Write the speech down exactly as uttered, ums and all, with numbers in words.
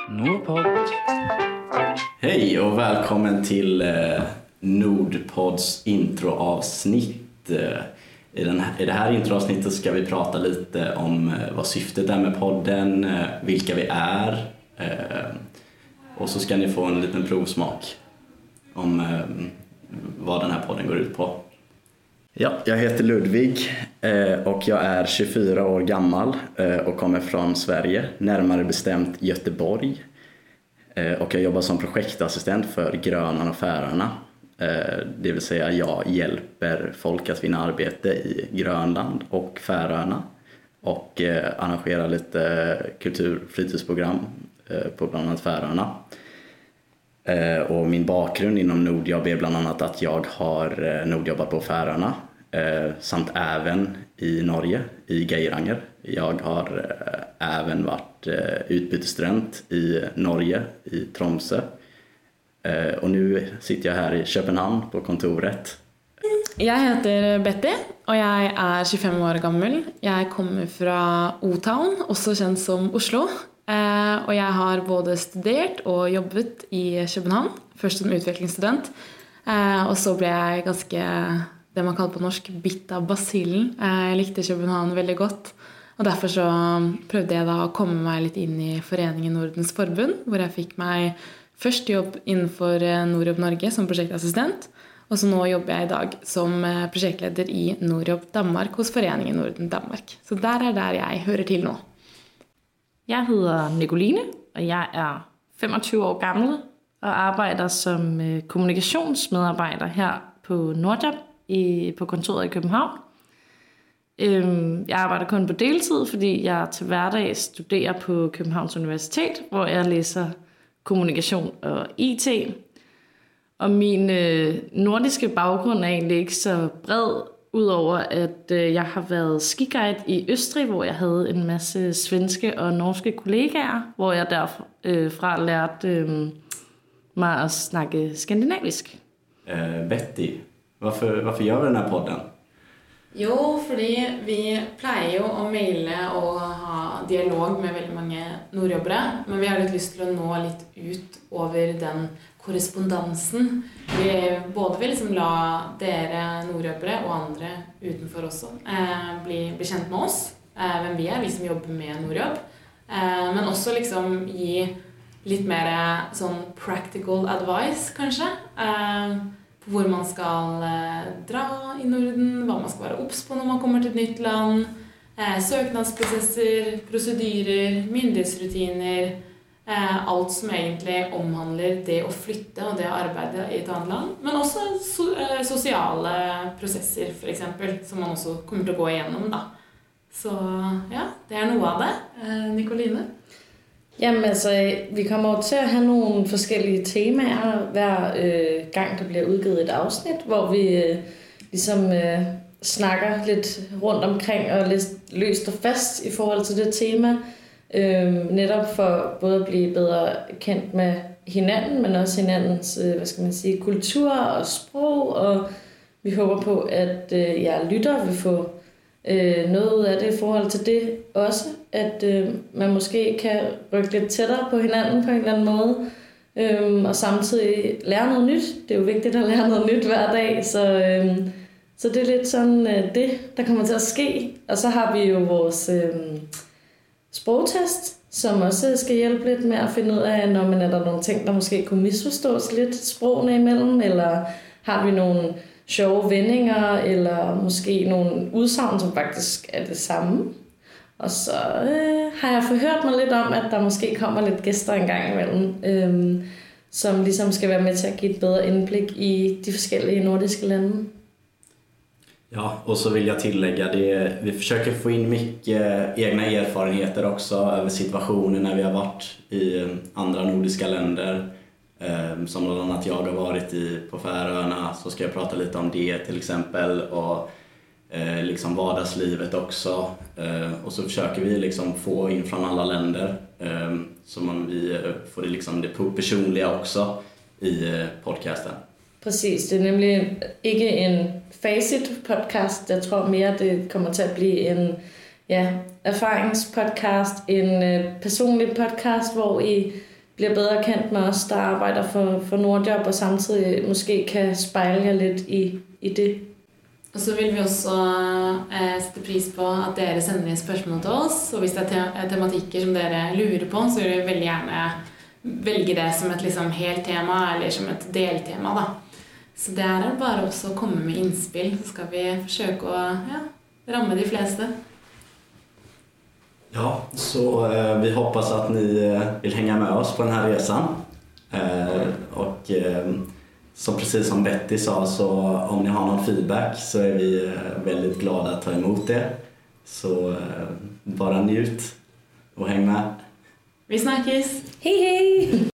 Nordpodd. Hej och välkommen till eh, Nordpods introavsnitt. Eh, i, den här, I det här introavsnittet ska vi prata lite om eh, vad syftet är med podden, eh, vilka vi är. Eh, och så ska ni få en liten provsmak om eh, vad den här podden går ut på. Ja, jag heter Ludvig eh, och jag är tjugofyra år gammal eh, och kommer från Sverige, närmare bestämt Göteborg. Eh, och jag jobbar som projektassistent för Grönan och Färöarna. Eh, det vill säga jag hjälper folk att finna arbete i Grönland och Färöarna. Och eh, arrangerar lite kultur- och fritidsprogram eh, på bland annat Färöarna. Eh, och min bakgrund inom Nordjobb är bland annat att jag har eh, Nordjobbat på Färöarna. Eh, samt även i Norge, i Geiranger. Jag har eh, även varit eh, utbytesstudent i Norge, i Tromsø. Eh, och nu sitter jag här i Köpenhamn på kontoret. Jag heter Betty och jag är tjugofem år gammal. Jag kommer från O-Town, också känd som Oslo. Eh, och jag har både studerat och jobbat i Köpenhamn, först som utvecklingsstudent. Eh, och så blev jag ganska, det man kallar på norsk, bitt av basillen. Eh, jag likte Köpenhamn väldigt gott. Och därför så prövade jag då att komma mig lite in i föreningen Nordens Forbund, där jag fick mig först jobb inför Nordjobb Norge som projektassistent. Och så nu jobbar jag idag som projektledare i Nordjobb Danmark hos föreningen Norden Danmark. Så där är där jag hör till nu. Jeg hedder Nicoline, og jeg er femogtyve år gammel og arbejder som kommunikationsmedarbejder her på Nordjobb i, på kontoret i København. Jeg arbejder kun på deltid, fordi jeg til hverdag studerer på Københavns Universitet, hvor jeg læser kommunikation og I T. Og min øh, nordiske baggrund er egentlig ikke så bred, udover at øh, jeg har været skiguide i Østrig, hvor jeg havde en masse svenske og norske kollegaer, hvor jeg derfra øh, lærte øh, mig at snakke skandinavisk. Uh, Betty, varför, varför gör vi den här podden? Jo, fordi vi plejer jo å maile og ha dialog med veldig mange nordjobbere, men vi har litt lyst til å nå litt ut over den korrespondansen. Vi både vil liksom la dere nordjobbere og andre utenfor også eh, bli, bli kjent med oss, eh, hvem vi er, vi som jobber med Nordjobb, eh, men også liksom gi litt mer sånn practical advice, kanskje, eh, på hvor man skal eh, dra i Norden, hva man skal være obs på når man kommer til et nytt land, eh, søknadsprosesser, prosedyrer, myndighetsrutiner, eh, alt som egentlig omhandler det å flytte og det å arbeide i et annet land, men også so eh, sosiale prosesser, for eksempel, som man også kommer til å gå igjennom, da. Så ja, det er noe av det. Eh, Nicoline? Jamen altså, vi kommer jo til at have nogle forskellige temaer hver øh, gang, der bliver udgivet et afsnit, hvor vi øh, ligesom øh, snakker lidt rundt omkring og lidt løst og fast i forhold til det tema. Øh, netop for både at blive bedre kendt med hinanden, men også hinandens øh, hvad skal man sige, kultur og sprog. Og vi håber på, at øh, jer lytter vil få øh, noget ud af det i forhold til det også. At øh, man måske kan rykke lidt tættere på hinanden på en eller anden måde. Øh, og samtidig lære noget nyt. Det er jo vigtigt at lære noget nyt hver dag. Så, øh, så det er lidt sådan øh, det, der kommer til at ske. Og så har vi jo vores øh, sprogtest, som også skal hjælpe lidt med at finde ud af, når man er der nogle ting, der måske kunne misforstås lidt sprogene imellem, eller har vi nogle sjove vendinger, eller måske nogle udsagn, som faktisk er det samme. Og så øh, har jeg forhørt mig lidt om, at der måske kommer lidt gæster en gang imellem, øh, som ligesom skal være med til at give et bedre indblik i de forskellige nordiske lande. Ja, och så vill jag tillägga det, vi försöker få in mycket egna erfarenheter också över situationer när vi har varit i andra nordiska länder. Som bland annat jag har varit i på Färöarna, så ska jag prata lite om det till exempel, och liksom vardagslivet också. Och så försöker vi liksom få in från alla länder, så man vi får det liksom det personliga också i podcasten. Præcis, det er nemlig ikke en facit-podcast. Jeg tror mere, det kommer til at blive en ja, erfaringspodcast, en øh, personlig podcast, hvor I bliver bedre kendt med os, der arbejder for, for Nordjob, og samtidig måske kan spejle jer lidt i, i det. Og så vil vi også eh, sette pris på at dere sender inn spørsmål til oss, og hvis det er te- tematikker som dere lurer på, så vil vi veldig gjerne velge det som et liksom helt tema, eller som et deltema da. Så det er bare også å komme med innspill, så skal vi forsøke å ja, ramme de fleste. Ja, så eh, vi hoppas att ni eh, vill hänga med oss på den här resan. Eh, och eh, som precis som Betty sa, så om ni har någon feedback så är vi eh, väldigt glada att ta emot det. Så eh, bara njut och häng med. Vi snakkes! Hej hej!